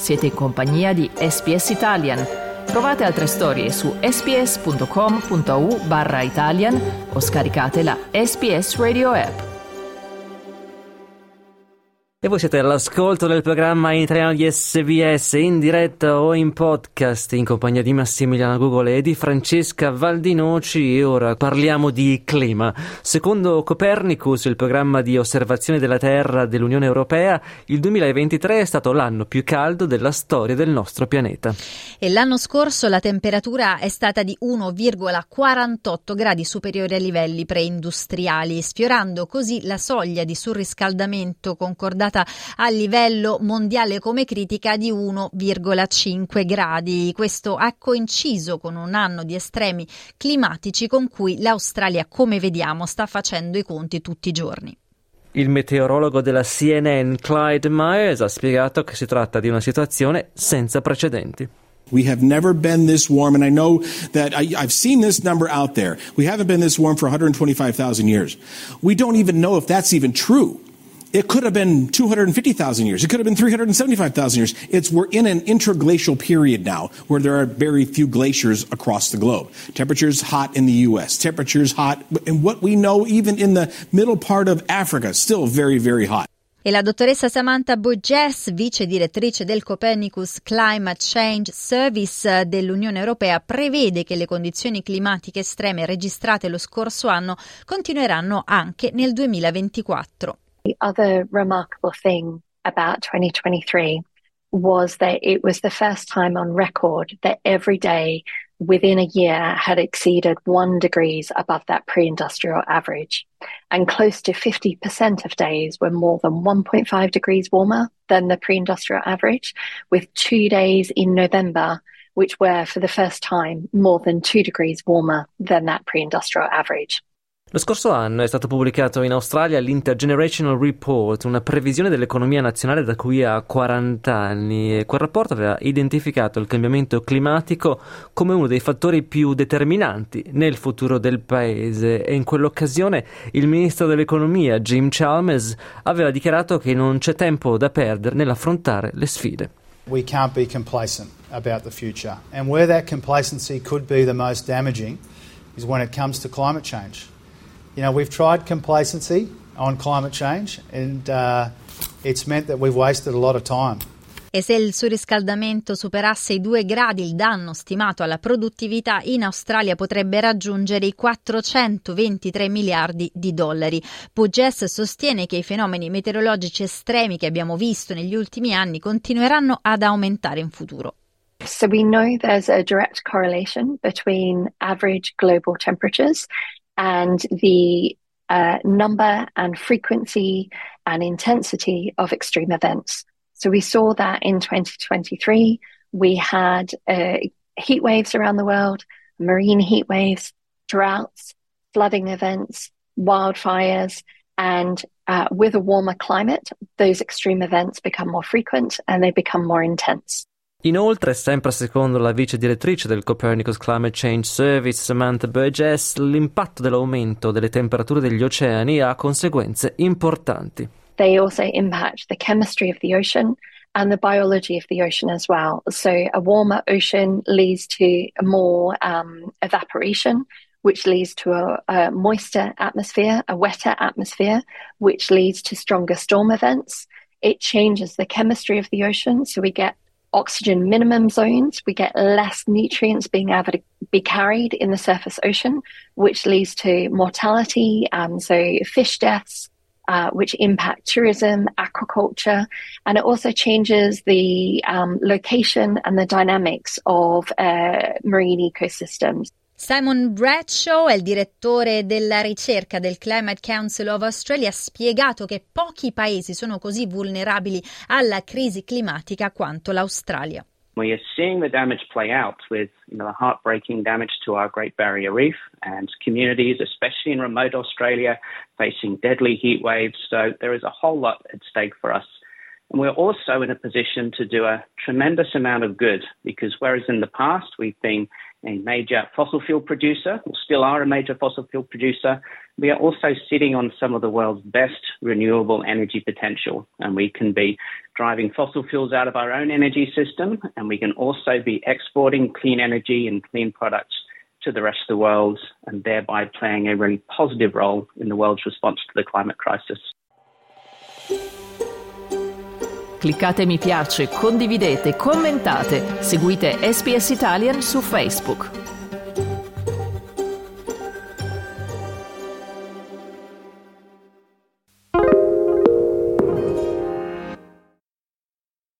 Siete in compagnia di SPS Italian. Trovate altre storie su sps.com.au/Italian o scaricate la SPS Radio app. E voi siete all'ascolto del programma in italiano di SBS, in diretta o in podcast, in compagnia di Massimiliano Gugole e di Francesca Valdinoci. E ora parliamo di clima. Secondo Copernicus, il programma di osservazione della Terra dell'Unione Europea, il 2023 è stato l'anno più caldo della storia del nostro pianeta. E l'anno scorso la temperatura è stata di 1,48 gradi superiore ai livelli preindustriali, sfiorando così la soglia di surriscaldamento concordata a livello mondiale come critica di 1,5 gradi. Questo ha coinciso con un anno di estremi climatici con cui l'Australia, come vediamo, sta facendo i conti tutti i giorni. Il meteorologo della CNN, Clyde Myers, ha spiegato che si tratta di una situazione senza precedenti. We have never been this warm, and I know that I've seen this number out there. We haven't been this warm for 125,000 years. We don't even know if that's even true. It could have been 250,000 years. It could have been 375,000 years. We're in an interglacial period now where there are very few glaciers across the globe. Temperatures hot in the US, temperatures hot, and what we know even in the middle part of Africa, still very, very hot. E la dottoressa Samantha Burgess, vice direttrice del Copernicus Climate Change Service dell'Unione Europea, prevede che le condizioni climatiche estreme registrate lo scorso anno continueranno anche nel 2024. The other remarkable thing about 2023 was that it was the first time on record that every day within a year had exceeded 1 degree above that pre-industrial average. And close to 50% of days were more than 1.5 degrees warmer than the pre-industrial average, with 2 days in November which were for the first time more than 2 degrees warmer than that pre-industrial average. Lo scorso anno è stato pubblicato in Australia l'Intergenerational Report, una previsione dell'economia nazionale da qui a 40 anni, e quel rapporto aveva identificato il cambiamento climatico come uno dei fattori più determinanti nel futuro del paese, e in quell'occasione il ministro dell'economia Jim Chalmers aveva dichiarato che non c'è tempo da perdere nell'affrontare le sfide. We can't be complacent about the future, and where that complacency could be the most damaging is when it comes to climate change. You know, we've tried complacency on climate change and it's meant that we've wasted a lot of time. E se il surriscaldamento superasse i 2 gradi, il danno stimato alla produttività in Australia potrebbe raggiungere i 423 miliardi di dollari. Burgess sostiene che i fenomeni meteorologici estremi che abbiamo visto negli ultimi anni continueranno ad aumentare in futuro. So we know there's a direct correlation between average global temperatures and the number and frequency and intensity of extreme events. So we saw that in 2023, we had heat waves around the world, marine heat waves, droughts, flooding events, wildfires, and with a warmer climate, those extreme events become more frequent and they become more intense. Inoltre, sempre secondo la vice direttrice del Copernicus Climate Change Service, Samantha Burgess, l'impatto dell'aumento delle temperature degli oceani ha conseguenze importanti. They also impact the chemistry of the ocean and the biology of the ocean as well. So a warmer ocean leads to more evaporation, which leads to a moister atmosphere, a wetter atmosphere, which leads to stronger storm events. It changes the chemistry of the ocean, so we get oxygen minimum zones, we get less nutrients being able to be carried in the surface ocean, which leads to mortality, so fish deaths, which impact tourism, aquaculture, and it also changes the location and the dynamics of marine ecosystems. Simon Bradshaw è il direttore della ricerca del Climate Council of Australia, ha spiegato che pochi paesi sono così vulnerabili alla crisi climatica quanto l'Australia. We are seeing the damage play out with the heartbreaking damage to our Great Barrier Reef and communities, especially in remote Australia, facing deadly heat waves. So there is a whole lot at stake for us. And we're also in a position to do a tremendous amount of good because whereas in the past we've been a major fossil fuel producer, or still are a major fossil fuel producer, we are also sitting on some of the world's best renewable energy potential, and we can be driving fossil fuels out of our own energy system, and we can also be exporting clean energy and clean products to the rest of the world, and thereby playing a really positive role in the world's response to the climate crisis. Cliccate mi piace, condividete, commentate, seguite SBS Italian su Facebook.